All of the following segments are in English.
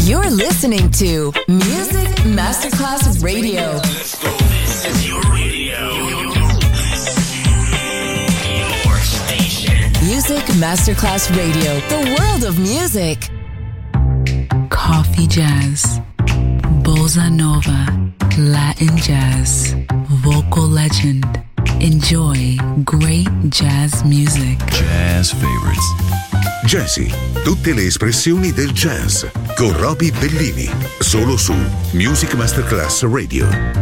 You're listening to Music Masterclass Radio. Let's go. This is your radio. Your station. Music Masterclass Radio. The world of music. Coffee jazz, bossa nova, Latin jazz, vocal legend. Enjoy great jazz music. Jazz favorites. Jazzy, tutte le espressioni del jazz con Roby Bellini, solo su Music Masterclass Radio.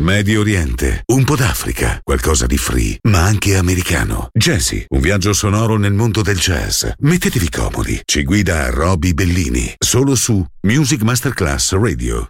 Medio Oriente, un po' d'Africa, qualcosa di free, ma anche americano. Jazzy, un viaggio sonoro nel mondo del jazz. Mettetevi comodi, ci guida Roby Bellini, solo su Music Masterclass Radio.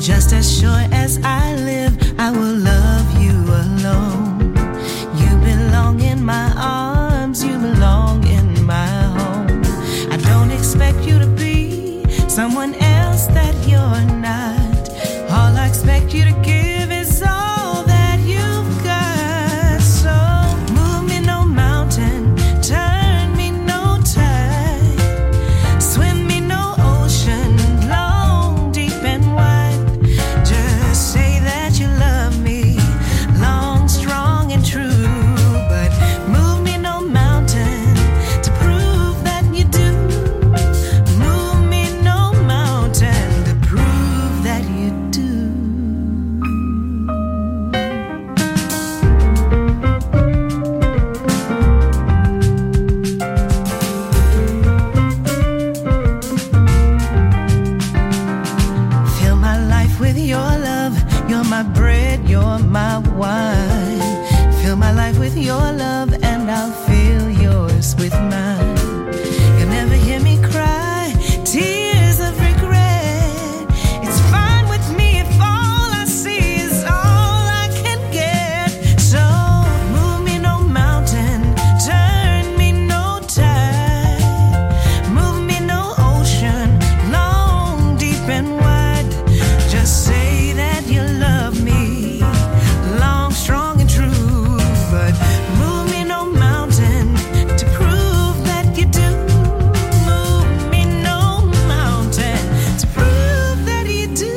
Just as sure as I live, I will love you alone. You belong in my arms, you belong in my home. I don't expect you to be someone else that you're not. All I expect you to give is all that you've got. So move me no mountain, turn me no tide, swim me no ocean, long, deep and wide. Just say that you love me, long, strong and true. But move me no mountain to prove that you do. Move me no mountain to prove that you do. Fill my life with your love. You're my bread, you're my wine. Fill my life with your love and I'll fill yours with mine. You'll never hear me cry tears of regret. It's fine with me if all I see is all I can get. So move me no mountain, turn me no tide, move me no ocean, long, deep and wide. Just say that you love me, long, strong and true. But move me no mountain to prove that you do. Move me no mountain to prove that you do.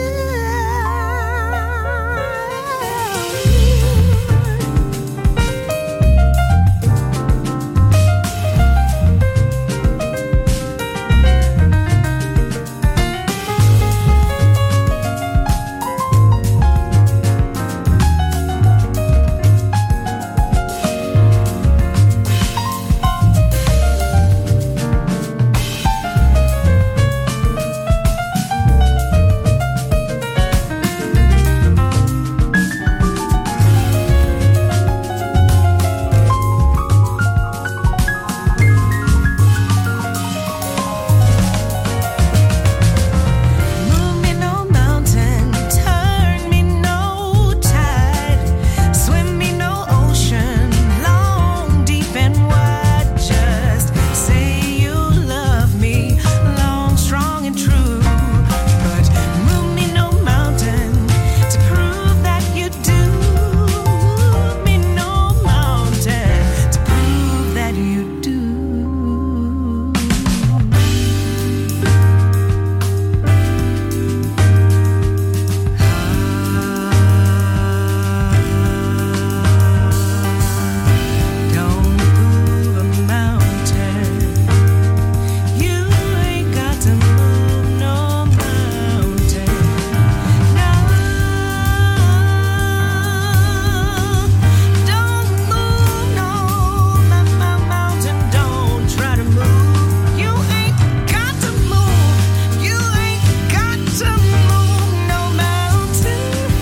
Move me no mountain, turn me no tide, swim me no ocean, long, deep and wide. Just say you love me, long, strong and true. But move me no mountain to prove that you do. Move me no mountain to prove that you do. Don't move a mountain. You ain't got to move no mountain. No, don't move no mountain. Don't try to move. You ain't got to move. You ain't got to move no mountain.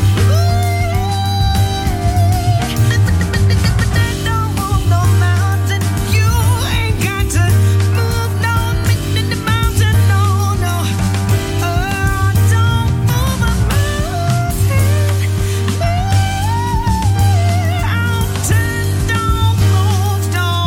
Don't move no mountain. You ain't got to move no mountain. No, no. Oh, don't move a mountain. Don't move.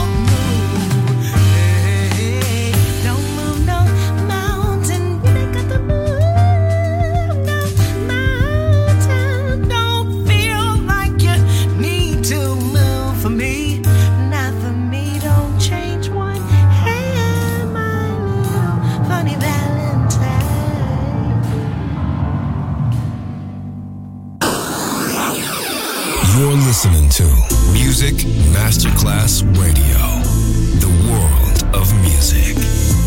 Hey, don't move no mountain. You ain't got to move no mountain. Don't feel like you need to move for me. Not for me. Don't change one hair, my little funny Valentine. You're listening to Music Masterclass Radio, the world of music.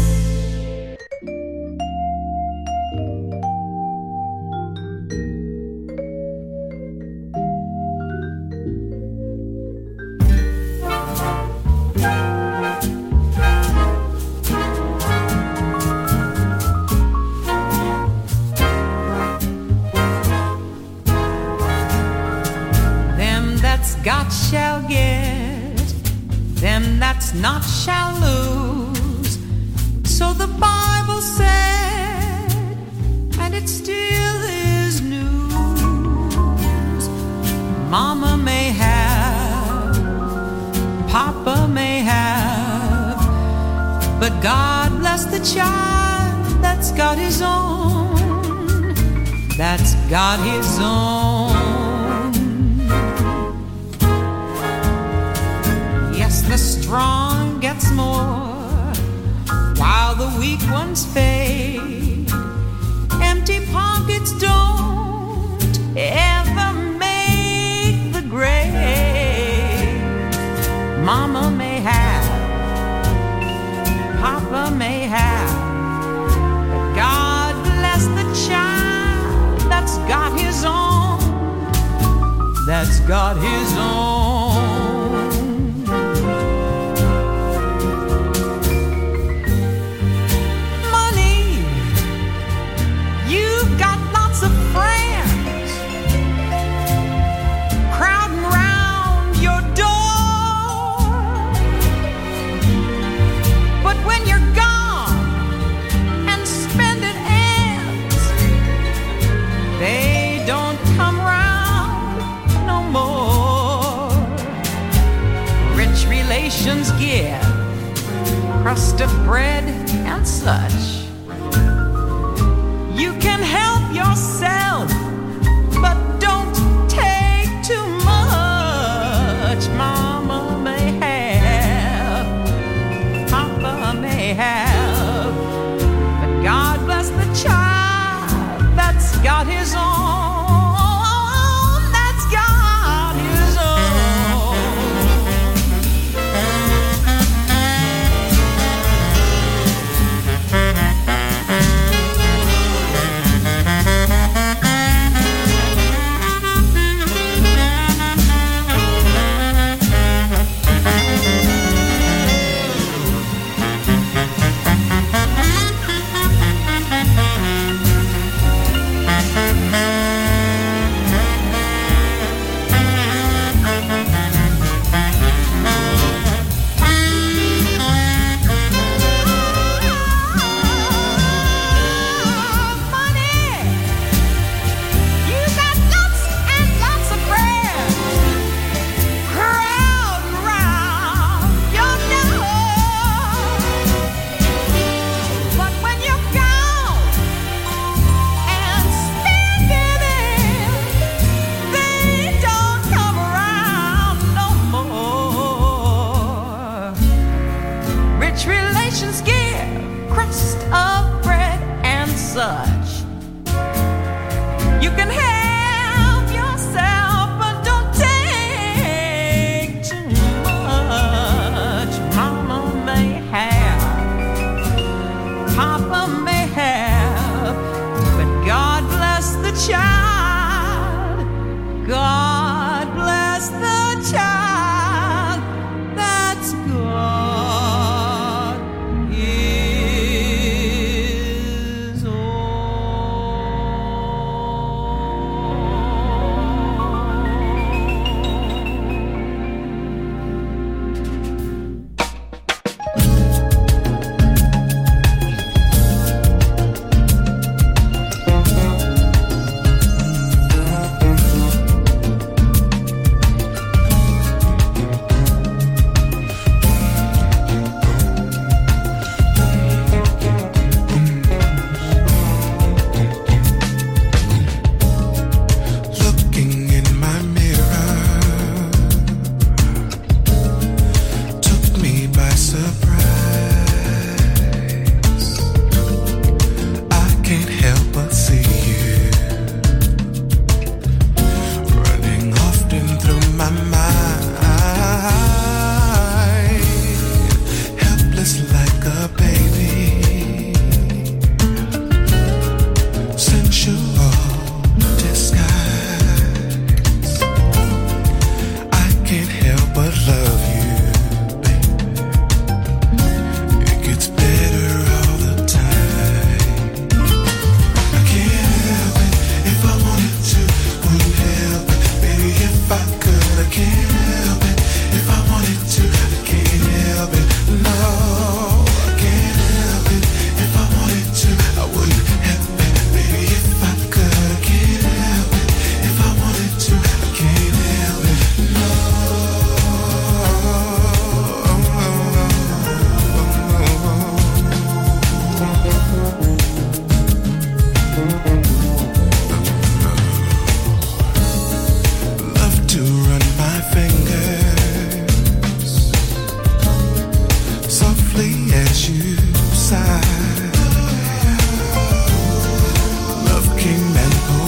Them that's got shall get, them that's not shall lose. So the Bible said, and it still is Mama may have, Papa may have, but God bless the child that's got his own, that's got his own. Yes, the strong gets more, while the weak ones fade. Empty pockets don't ever make the grade. Mama may have, Papa may have, but God bless the child that's got his own, that's got his own. Money, you've got lots of friends crowding round your door, but when you're gone and spending ends, they don't come round no more. Rich relations give crust of bread and such. You can help yourself, but don't take too much. Mama may have, Papa may have, but God bless the child that's got his own, that's got his own. You can help yourself, but don't take too much. Mama may have, Papa may have, but God bless the child. God bless the child that's got his own.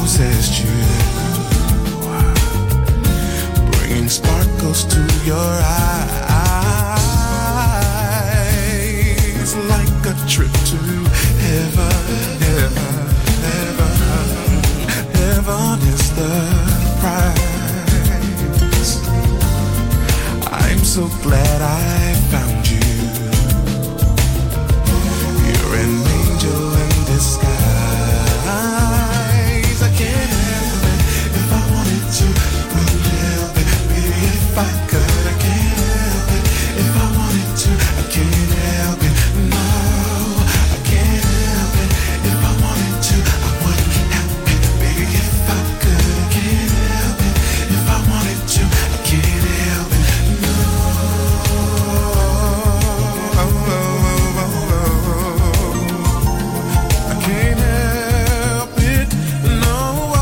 possessed you, bringing sparkles to your eyes, like a trip to heaven. Heaven is the prize. I'm so glad I found you. You're an angel in disguise. I can't help it if I wanted to. Couldn't help it, baby, if I could. I can't help it if I wanted to. I can't help it, no. I can't help it if I wanted to. I wouldn't help it, baby, if I could. I can't help it if I wanted to. I can't help it, no. I can't help it, no.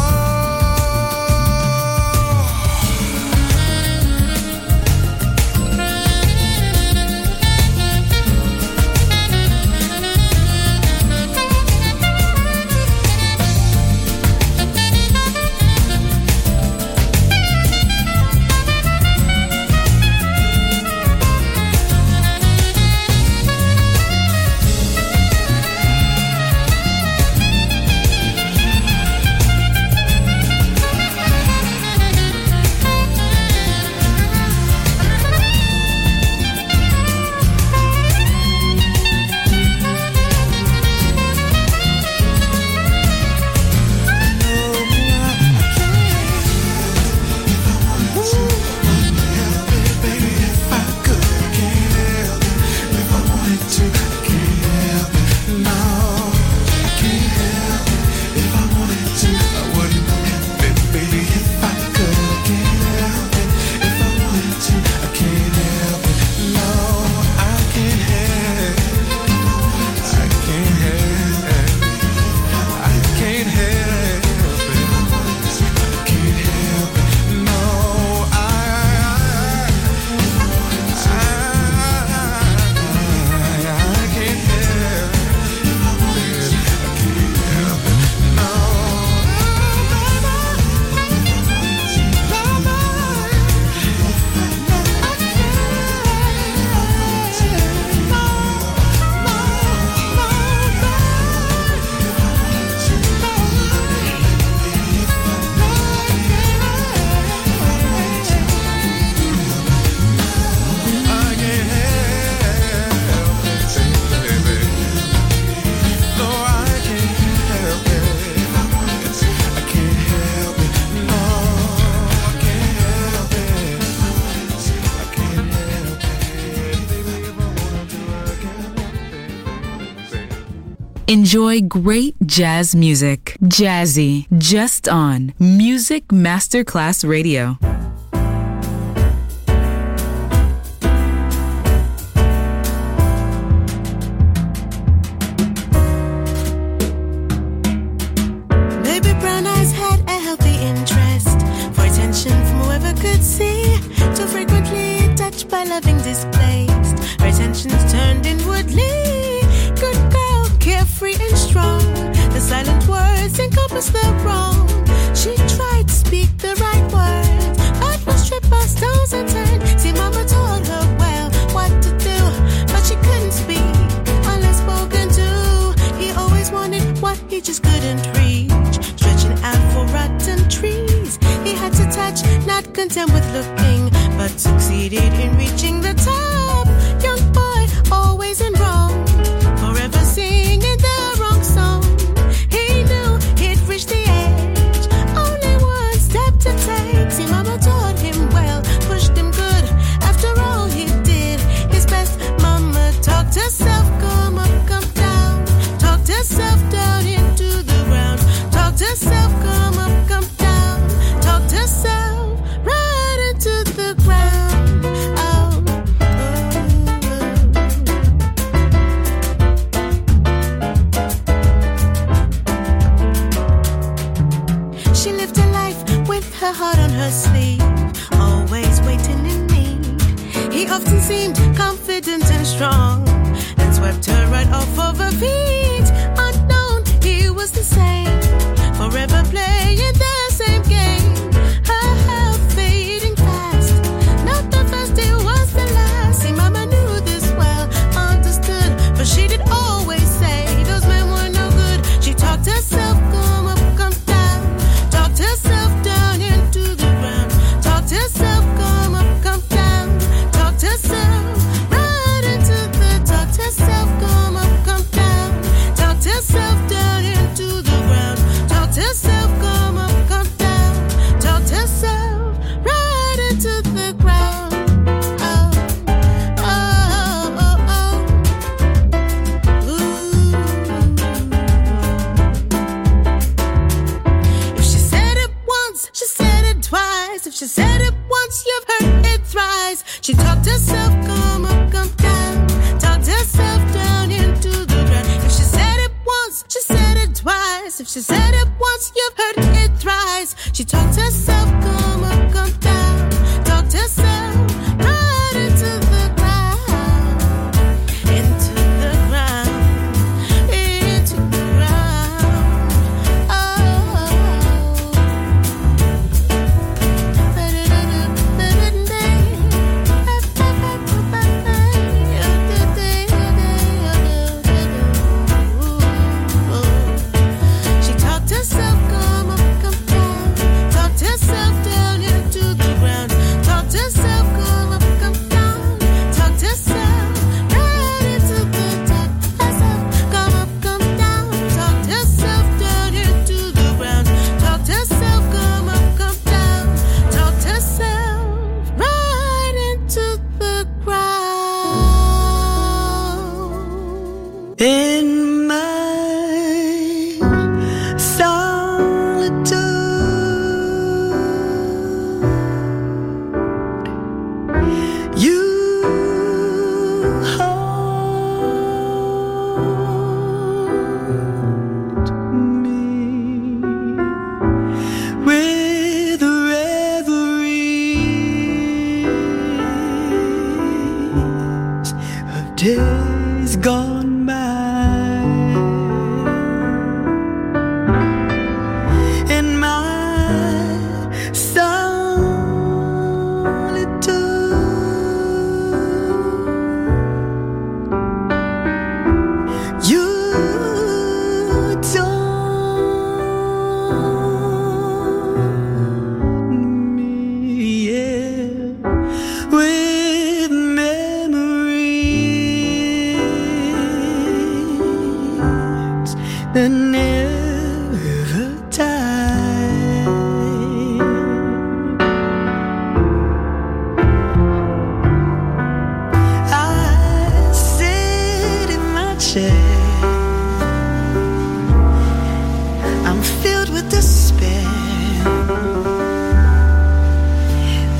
Enjoy great jazz music. Jazzy, just on Music Masterclass Radio. Baby brown eyes had a healthy interest for attention from whoever could see. Too frequently touched by loving displaced. Her attention's turned inwardly. Good girl, carefree and strong. The silent words encompass the wrong. She tried to speak the right words, but was tripped by stones and turned. See, mama told her well what to do, but she couldn't speak unless spoken to. He always wanted what he just couldn't reach. Stretching out for rotten trees, he had to touch, not content with looking, but succeeded in reaching the top. Young boy, always in wrong, forever singing the wrong song. He knew he'd reached the edge, only one step to take. See, mama taught him well, pushed him good. After all, he did his best. Mama talked herself, come up, come down. Talked herself down into the ground. Talked herself, come up, come down. Talked herself right into the ground. Oh, oh. She lived her life with her heart on her sleeve, always waiting in need. He often seemed confident and strong, and swept her right off of her feet. Unknown, he was the same, forever playing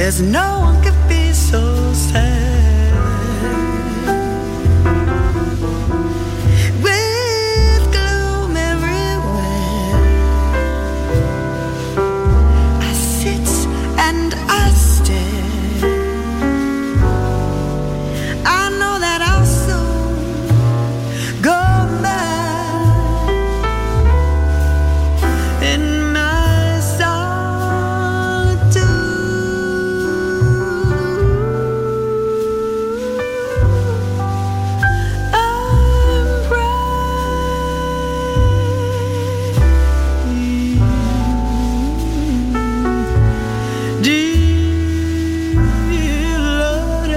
There's no one could be so sad. With gloom everywhere, I sit and I stare. I know that I'll soon go mad in my solitude. I'm praying, dear Lord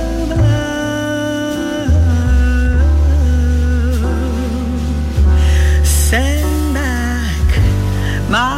above, send back my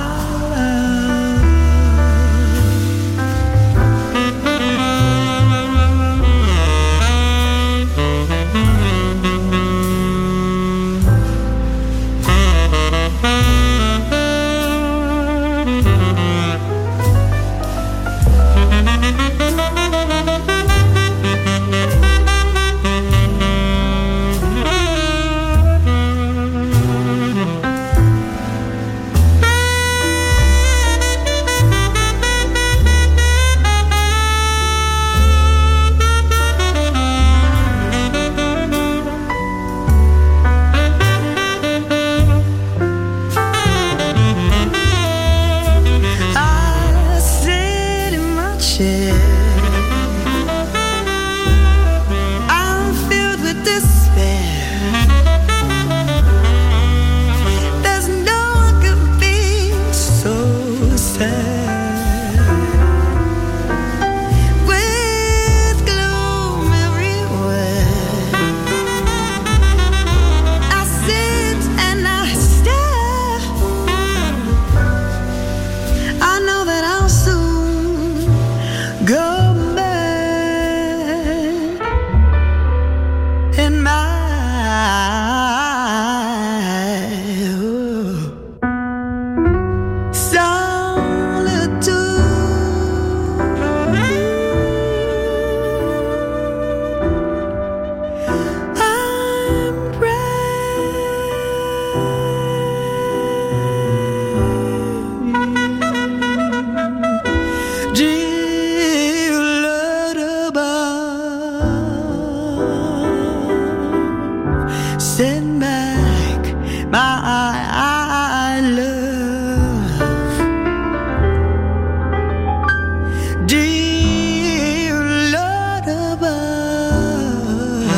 I sit in my chair. I'm filled with despair. There's no one could be so sad. With gloom everywhere, I sit and I stare. I know that I'll soon go mad in my solitude. I'm praying, dear Lord above, send back my love. Dear Lord above,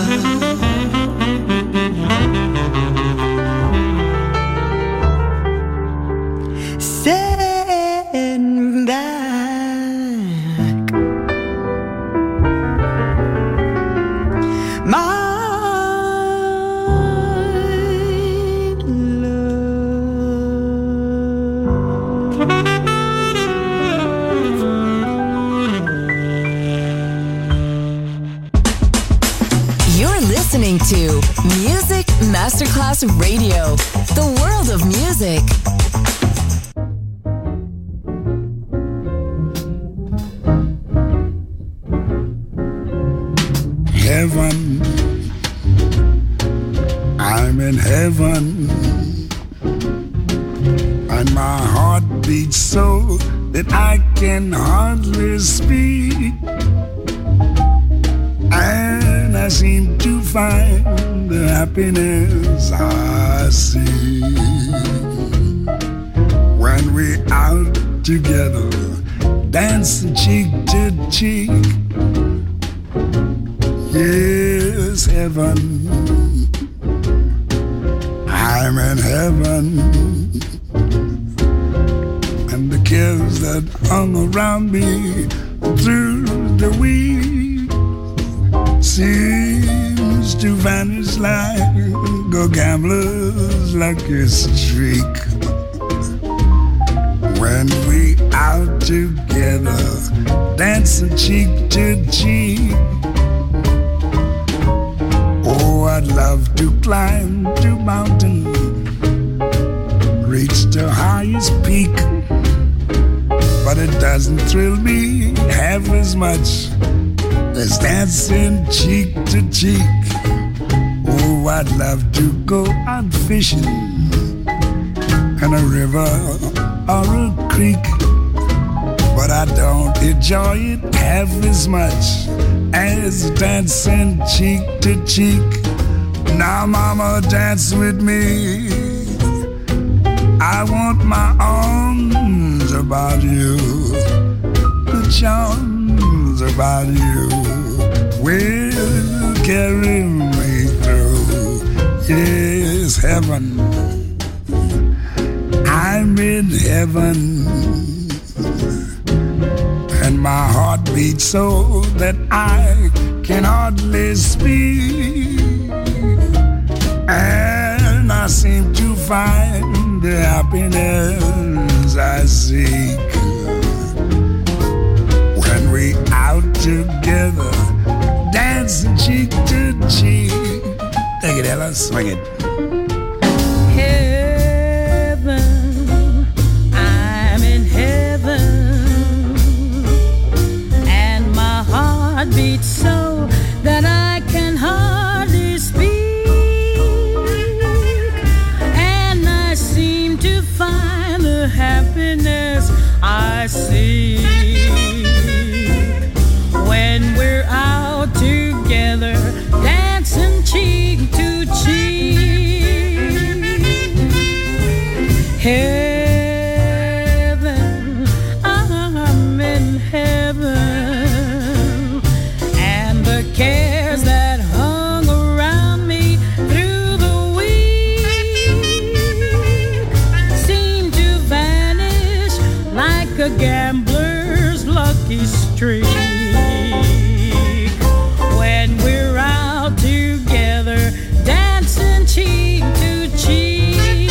send back my You're listening to Music Masterclass Radio, the world of music. Heaven, I'm in heaven, and my heart beats so that I can hardly speak, and I seem to find the happiness I see when we're out together, dancing cheek to cheek. Yes, heaven, I'm in heaven, and the cares that hung around me through the week seems to vanish like a gambler's lucky streak. When we out together, dancing cheek to cheek. Oh, I'd love to climb the mountain, reach the highest peak, but but it doesn't thrill me half as much as dancing cheek to cheek. Oh, I'd love to go out fishing in a river or a creek, but I don't enjoy it half as much as dancing cheek to cheek. Now, mama, dance with me. I want my arms about you, the charms about you will carry me through. Yes, heaven, I'm in heaven, and my heart beats so that I can hardly speak, and I seem to find the happiness I seek when we out together, dancing cheek to cheek. Take it, Ella, swing it. Heaven, I'm in heaven, and my heart beats so that I can hardly speak, and I seem to find the happiness I seek when we're out together, dancing cheek to cheek. Heaven, I'm in heaven, and the cares that hung around me through the week seem to vanish like a gambler's lucky streak when we're out together, dancing cheek to cheek.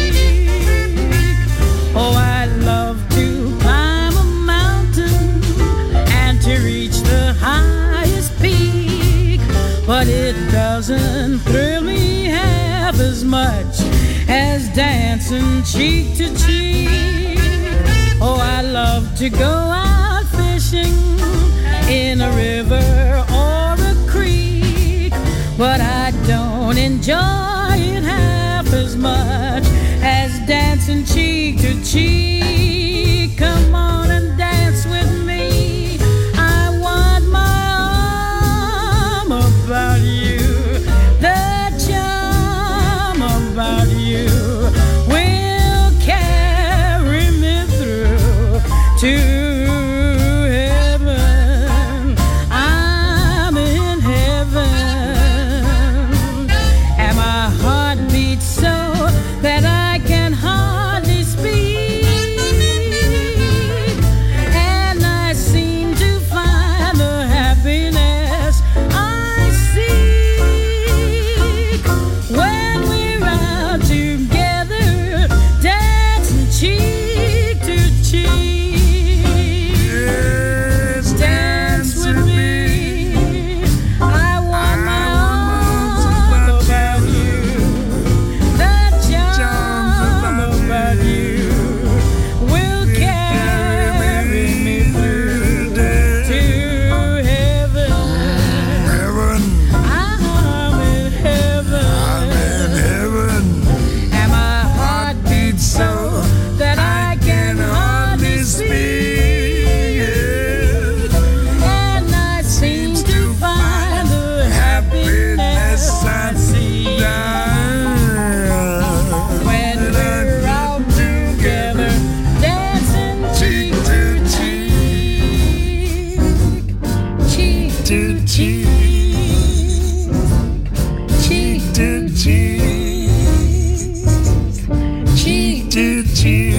Oh, I'd love to climb a mountain and to reach the highest peak, but it doesn't thrill me half as much as dancing cheek to cheek. Oh, I love to go out fishing in a river or a creek, but I don't enjoy it half as much as dancing cheek to cheek. Come on and dance with me. I want my arm about you, the charm about you will carry me through to heaven. I'm in heaven, and my heart beats so that I can hardly speak, and I seem to find the happiness I seek when we're out together, dancing cheek to cheek. Yes, Dance with me. I want my arms about you, the charm about you will carry me through to heaven. Heaven, I'm in heaven, I'm in heaven. and my heart beats so that I can hardly speak, and I seem to find the happiness I see when we're out together, dancing cheek to cheek, cheek to cheek, cheek to cheek, cheek to cheek.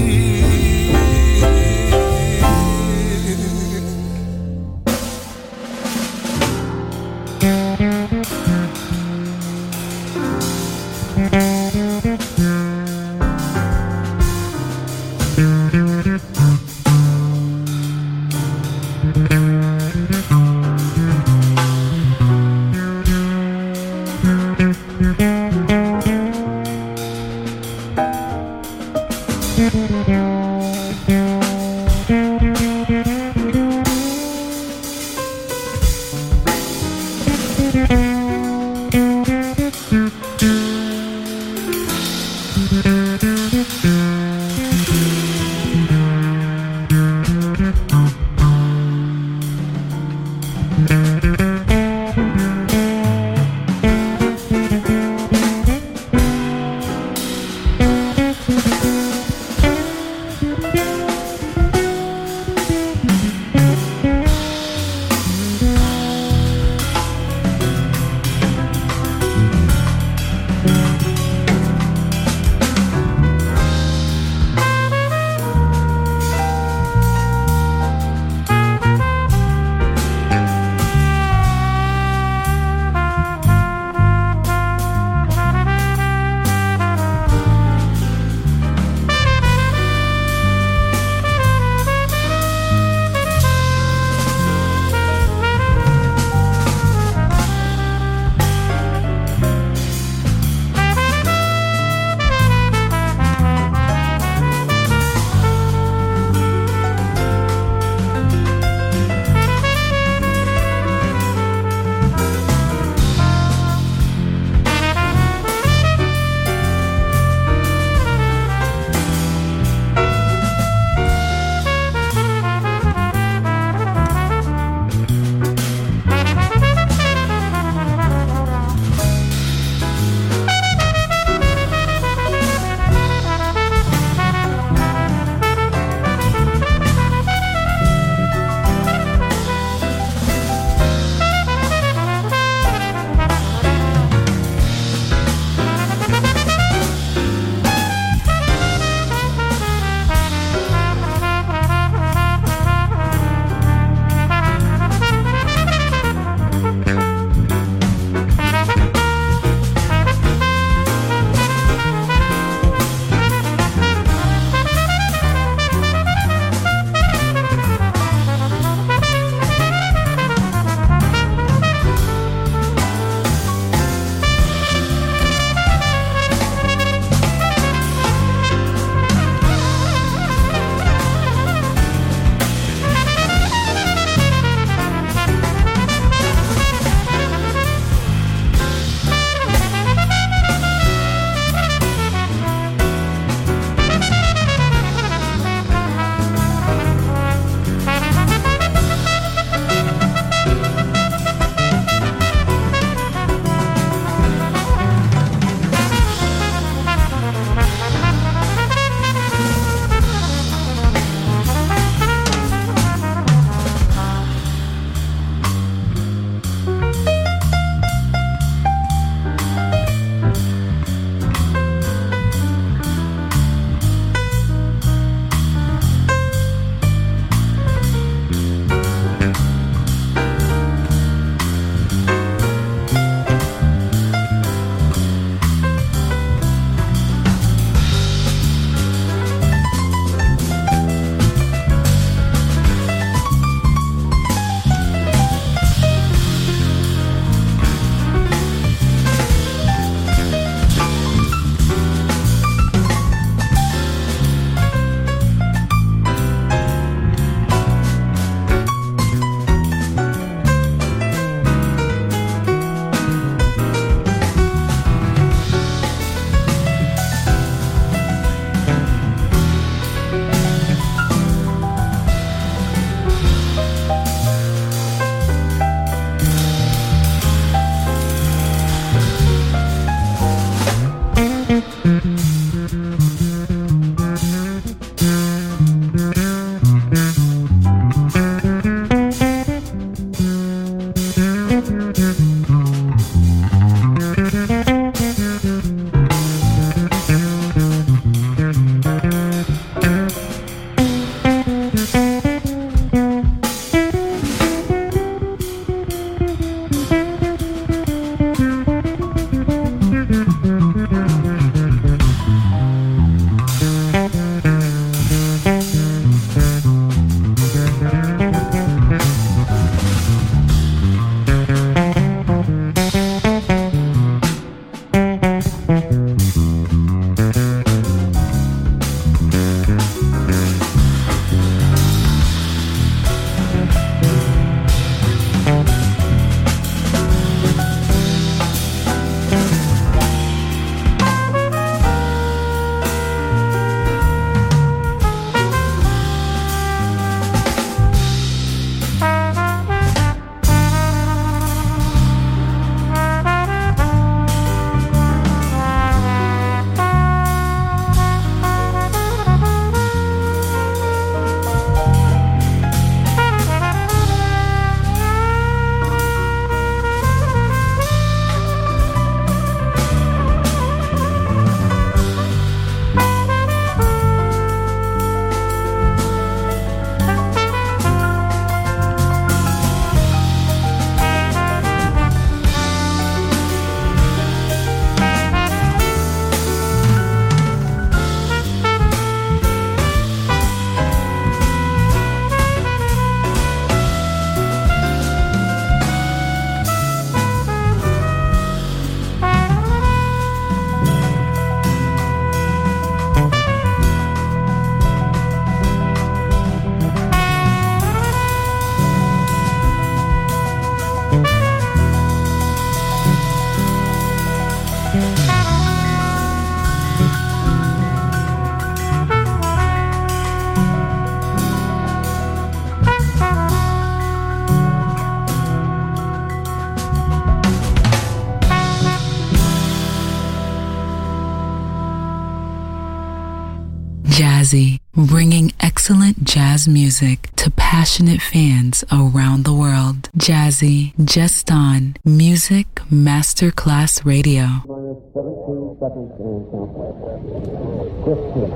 Jazzy, bringing excellent jazz music to passionate fans around the world. Jazzy, just on Music Masterclass Radio. 17 seconds and countdown. 15,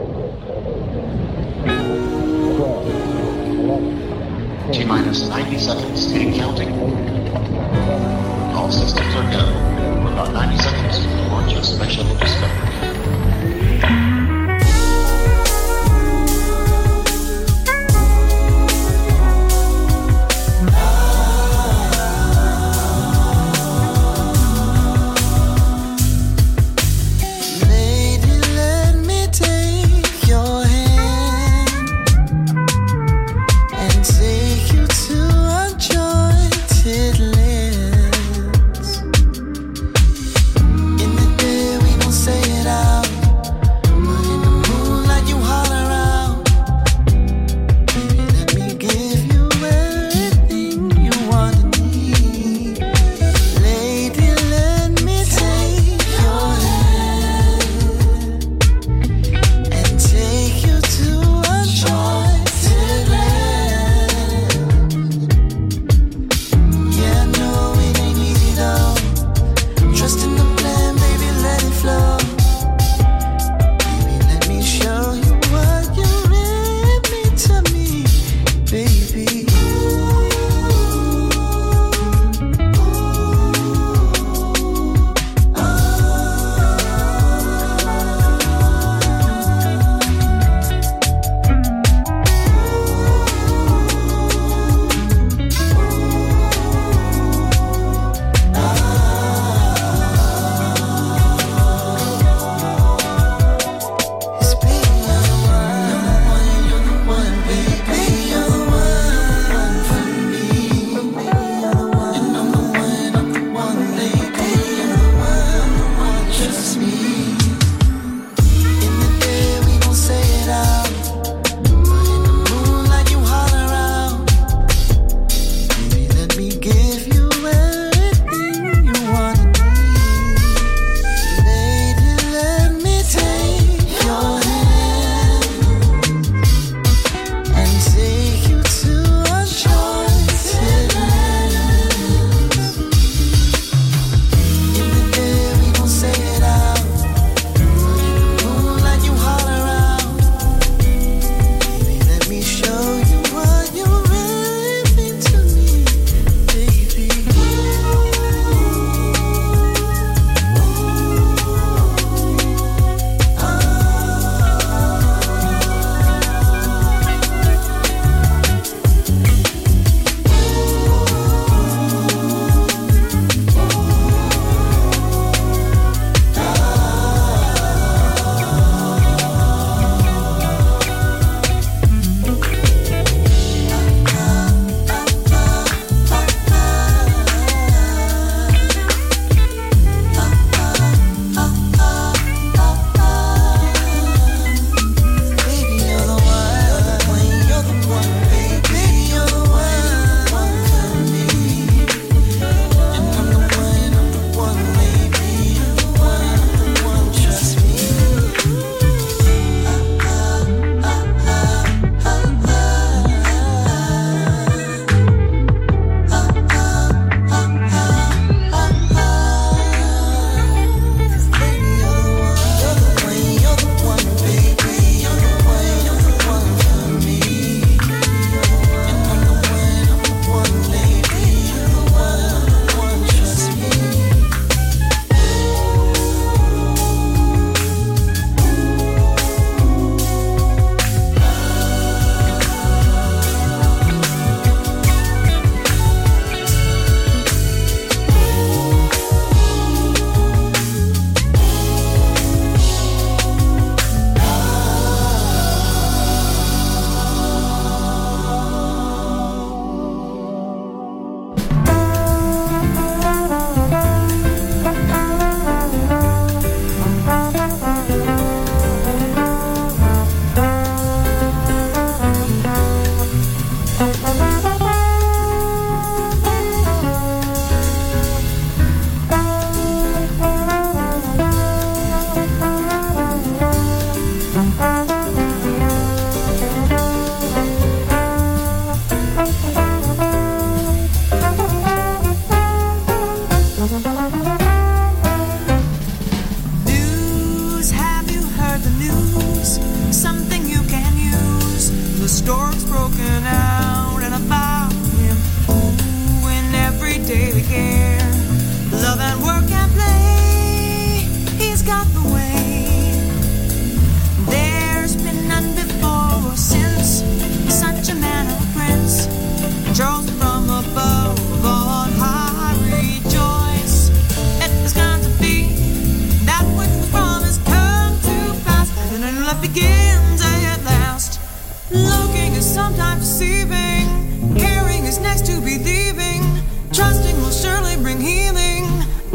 12, 11, T-minus 90 seconds and counting. All systems are go. We're about 90 seconds to launch a special discovery. Say it out. the stork's broken out, and about him, ooh, in every daily care, love and work and play, he's got the way. There's been none before or since, such a man or prince, Charles from above on high, rejoice. It is going to be that which was promised come to pass, and a new life begins at last. Looking is sometimes deceiving, caring is next to believing, trusting will surely bring healing.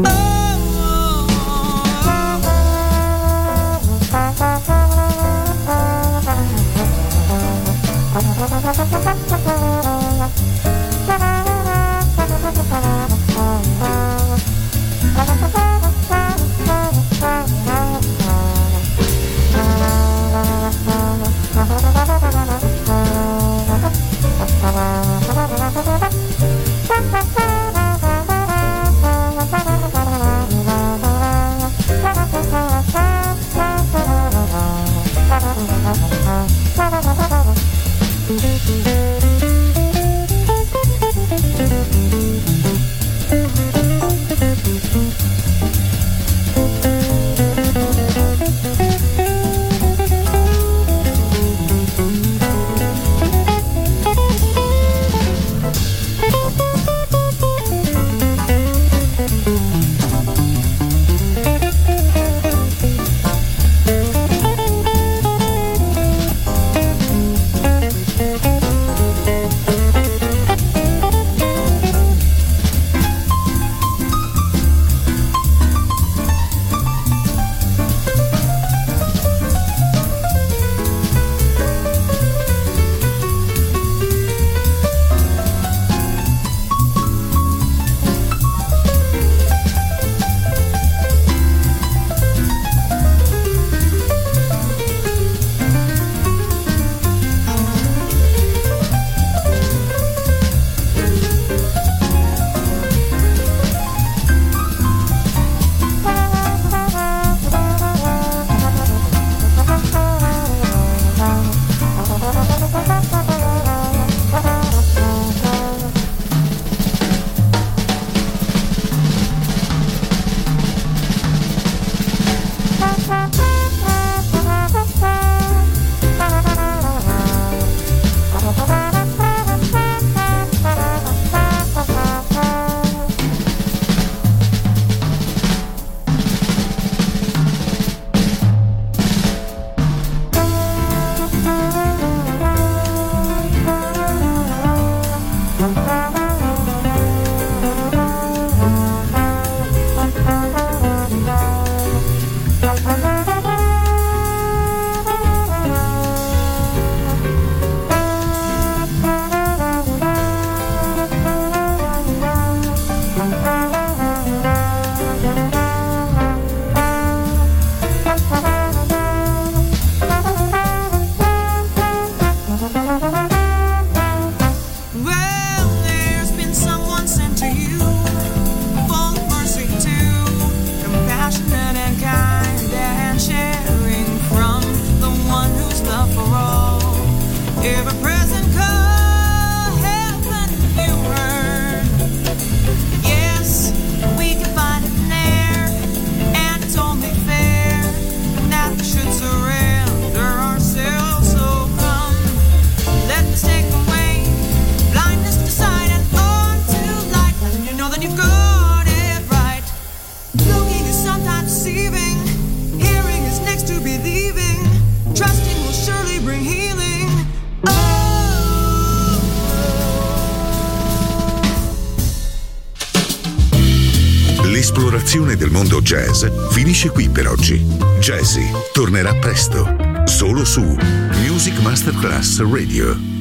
L'esplorazione del mondo jazz finisce qui per oggi. Jazzy tornerà presto, solo su Music Masterclass Radio.